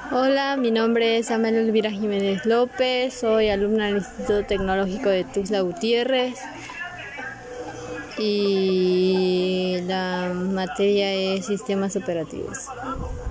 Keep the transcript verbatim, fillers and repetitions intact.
Hola, mi nombre es Amelia Elvira Jiménez López, soy alumna del Instituto Tecnológico de Tuxtla Gutiérrez y la materia es sistemas operativos.